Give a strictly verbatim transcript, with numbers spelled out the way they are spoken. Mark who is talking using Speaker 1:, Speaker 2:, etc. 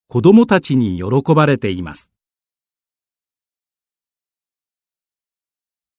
Speaker 1: 子どもたちに喜ばれています。